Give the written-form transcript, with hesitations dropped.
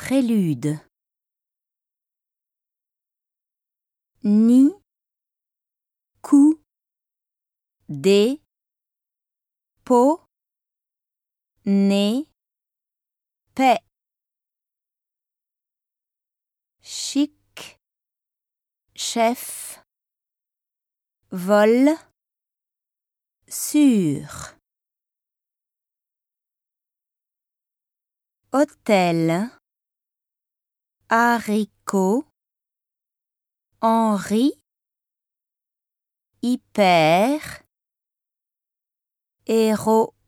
Prélude. Ni, coup, des, pot, nez, paix. Chic, chef, vol, sûr. Hôtel, haricot, Henri, hyper, héros.